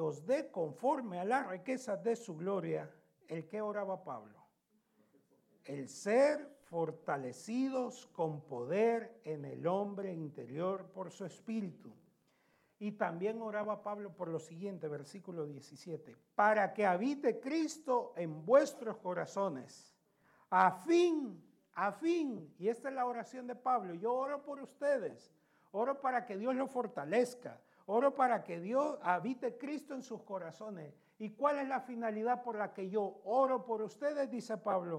os dé conforme a las riquezas de su gloria. ¿El qué oraba Pablo? El ser fortalecidos con poder en el hombre interior por su espíritu. Y también oraba Pablo por lo siguiente, versículo 17, para que habite Cristo en vuestros corazones, a fin, y esta es la oración de Pablo, yo oro por ustedes, oro para que Dios los fortalezca, oro para que Dios habite Cristo en sus corazones. ¿Y cuál es la finalidad por la que yo oro por ustedes? Dice Pablo,